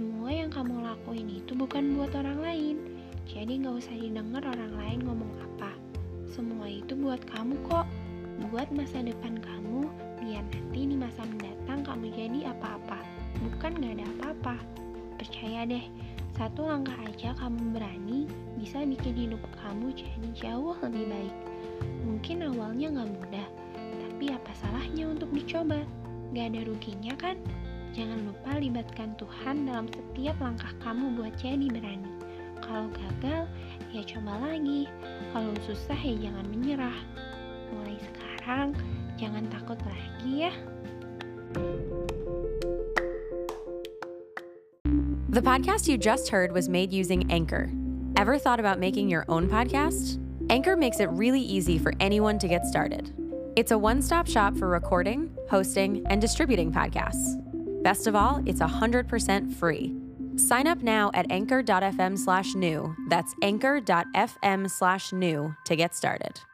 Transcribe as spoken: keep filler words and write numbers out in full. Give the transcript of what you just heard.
semua yang kamu lakuin itu bukan buat orang lain. Jadi gak usah didengar orang lain ngomong apa. Semua itu buat kamu kok. Buat masa depan kamu, biar nanti di masa mendatang kamu jadi apa-apa. Bukan gak ada apa-apa. Percaya deh, satu langkah aja kamu berani bisa bikin hidup kamu jadi jauh lebih baik. Mungkin awalnya gak mudah, tapi apa salahnya untuk dicoba? Gak ada ruginya kan? Jangan lupa libatkan Tuhan dalam setiap langkah kamu buat jadi berani. Kalau gagal, ya coba lagi. Kalau susah, ya jangan menyerah. Mulai sekarang, jangan takut lagi ya. The podcast you just heard was made using Anchor. Ever thought about making your own podcast? Anchor makes it really easy for anyone to get started. It's a one-stop shop for recording, hosting, and distributing podcasts. Best of all, it's one hundred percent free. Sign up now at anchor.fm slash new. That's anchor.fm slash new to get started.